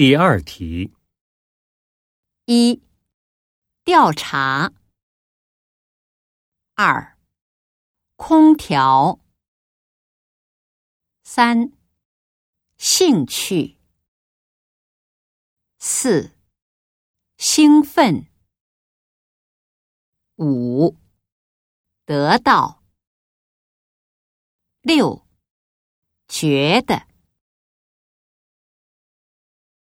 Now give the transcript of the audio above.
第二题。 1. 调查。2. 空调。3. 兴趣。4. 兴奋。5. 得到。6. 觉得。